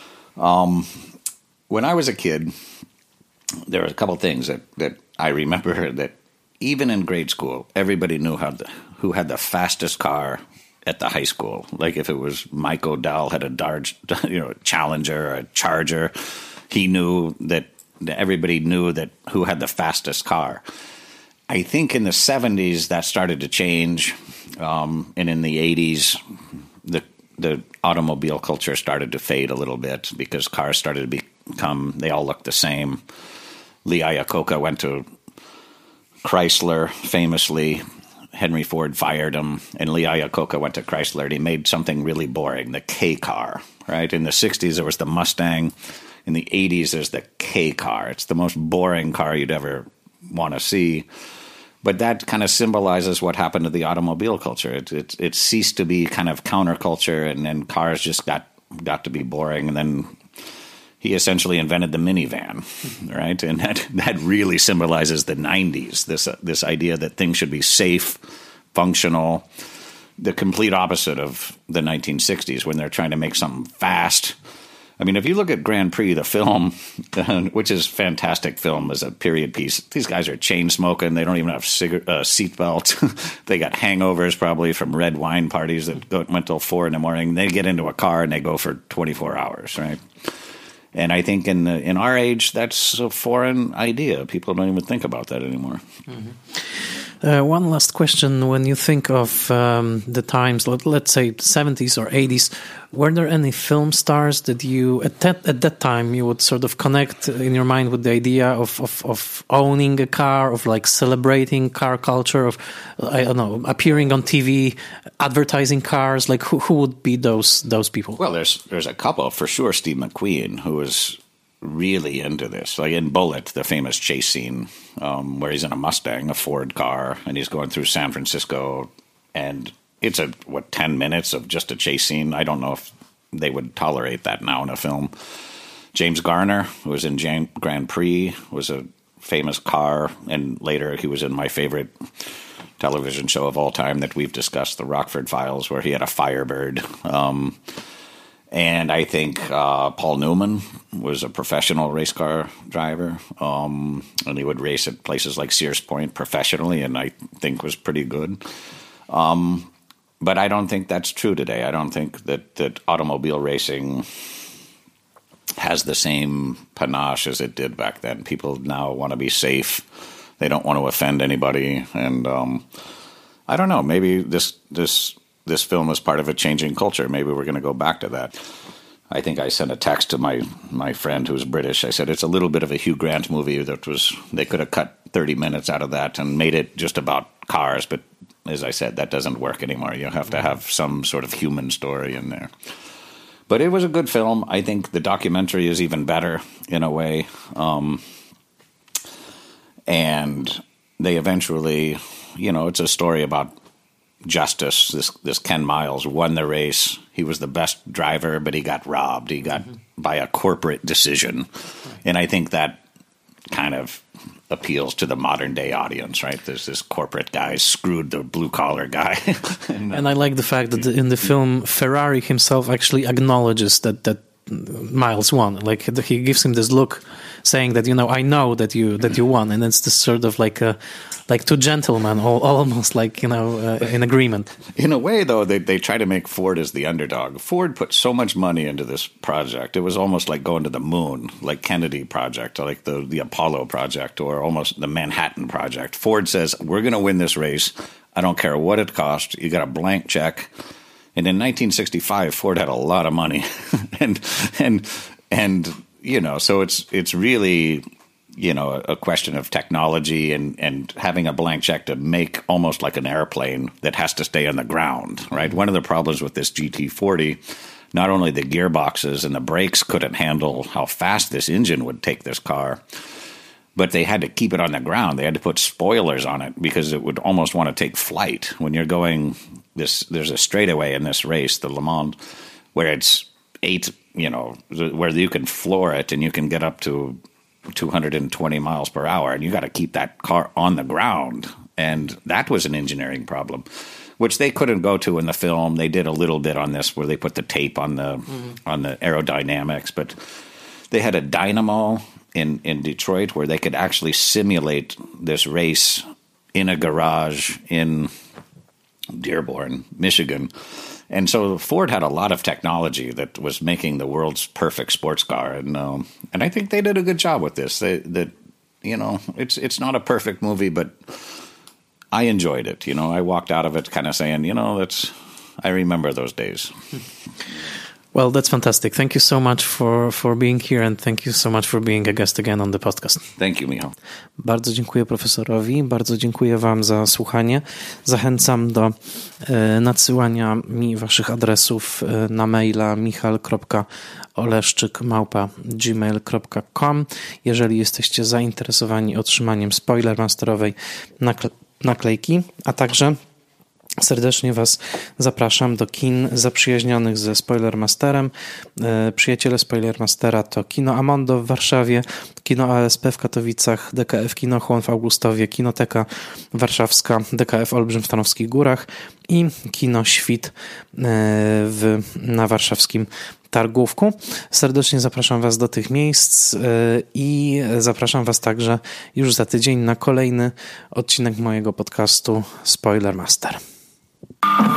[SPEAKER 2] Um, when I was a kid, there were a couple things that, that I remember that even in grade school, everybody knew how the, who had the fastest car at the high school. Like if it was Mike O'Dell had a Dodge, you know, Challenger or a Charger, he knew that. Everybody knew that who had the fastest car. I think in the seventies that started to change, um, and in the eighties, the the automobile culture started to fade a little bit because cars started to become they all looked the same. Lee Iacocca went to Chrysler famously. Henry Ford fired him, and Lee Iacocca went to Chrysler, and he made something really boring, the K car. Right in the sixties, there was the Mustang. In the eighties, there's the K car. It's the most boring car you'd ever want to see. But that kind of symbolizes what happened to the automobile culture. It it, it ceased to be kind of counterculture, and then cars just got, got to be boring. And then he essentially invented the minivan, right? And that, that really symbolizes the nineties, this, uh, this idea that things should be safe, functional, the complete opposite of the nineteen sixties when they're trying to make something fast. I mean, if you look at Grand Prix, the film, which is a fantastic film as a period piece, these guys are chain smoking. They don't even have cigar- uh, seat belts. They got hangovers probably from red wine parties that go, went till four in the morning. They get into a car and they go for twenty-four hours, right? And I think in the, in our age, that's a foreign idea. People don't even think about that anymore.
[SPEAKER 1] Mm-hmm. Uh, one last question. When you think of um, the times, let, let's say seventies or eighties, were there any film stars that you, at that, at that time, you would sort of connect in your mind with the idea of, of, of owning a car, of like celebrating car culture, of, I don't know, appearing on T V, advertising cars? Like who, who would be those those people?
[SPEAKER 2] Well, there's there's a couple. For sure, Steve McQueen, who was really into this. Like in Bullet, the famous chase scene um, where he's in a Mustang, a Ford car, and he's going through San Francisco, and it's a what ten minutes of just a chase scene. I don't know if they would tolerate that now in a film. James Garner, who was in Jan- Grand Prix, was a famous car, and later he was in my favorite television show of all time that we've discussed, The Rockford Files, where he had a Firebird. Um, And I think uh, Paul Newman was a professional race car driver, um, and he would race at places like Sears Point professionally, and I think was pretty good. Um, but I don't think that's true today. I don't think that, that automobile racing has the same panache as it did back then. People now want to be safe. They don't want to offend anybody. And um, I don't know, maybe this this... This film is part of a changing culture. Maybe we're going to go back to that. I think I sent a text to my, my friend who's British. I said, it's a little bit of a Hugh Grant movie that was, they could have cut thirty minutes out of that and made it just about cars. But as I said, that doesn't work anymore. You have to have some sort of human story in there. But it was a good film. I think the documentary is even better in a way. Um, and they eventually, you know, it's a story about justice. This this Ken Miles won the race. He was the best driver, but he got robbed. He got mm-hmm. by a corporate decision. And I think that kind of appeals to the modern day audience, right? There's this corporate guy screwed the blue collar guy. and,
[SPEAKER 1] and I like the fact that in the film, Ferrari himself actually acknowledges that that Miles won. Like he gives him this look saying that, you know, I know that you that you won. And it's this sort of like a like two gentlemen, all, almost like, you know, uh, in agreement.
[SPEAKER 2] In a way, though, they they try to make Ford as the underdog. Ford put so much money into this project. It was almost like going to the moon, like Kennedy Project, like the, the Apollo Project, or almost the Manhattan Project. Ford says, we're going to win this race. I don't care what it costs. You got a blank check. And in nineteen sixty-five, Ford had a lot of money. and, and, and you know, so it's it's really... you know, a question of technology and, and having a blank check to make almost like an airplane that has to stay on the ground, right? One of the problems with this G T forty, not only the gearboxes and the brakes couldn't handle how fast this engine would take this car, but they had to keep it on the ground. They had to put spoilers on it because it would almost want to take flight. When you're going this, there's a straightaway in this race, the Le Mans, where it's eight, you know, where you can floor it and you can get up to two hundred twenty miles per hour, and you got to keep that car on the ground. And that was an engineering problem, which they couldn't go to in the film. They did a little bit on this where they put the tape on the mm. on the aerodynamics, but they had a dynamo in, in Detroit where they could actually simulate this race in a garage in Dearborn, Michigan. And so Ford had a lot of technology that was making the world's perfect sports car, and um, and I think they did a good job with this. They, that you know, it's it's not a perfect movie, but I enjoyed it. You know, I walked out of it kind of saying, you know, that's I remember those days.
[SPEAKER 1] Well, that's fantastic. Thank you so much for, for being here, and thank you so much for being a guest again on the podcast.
[SPEAKER 2] Thank you, Michał.
[SPEAKER 1] Bardzo dziękuję profesorowi, bardzo dziękuję wam za słuchanie. Zachęcam do e, nadsyłania mi waszych adresów e, na maila michal kropka oleszczyk małpa gmail kropka com. Jeżeli jesteście zainteresowani otrzymaniem Spoilermasterowej nakle- naklejki, a także serdecznie was zapraszam do kin zaprzyjaźnionych ze Spoilermasterem. Przyjaciele Spoilermastera to Kino Amondo w Warszawie, Kino A S P w Katowicach, D K F Kino Chłon w Augustowie, Kinoteka Warszawska, D K F Olbrzym w Tarnowskich Górach i Kino Świt w, na warszawskim Targówku. Serdecznie zapraszam Was do tych miejsc i zapraszam Was także już za tydzień na kolejny odcinek mojego podcastu Spoiler Master.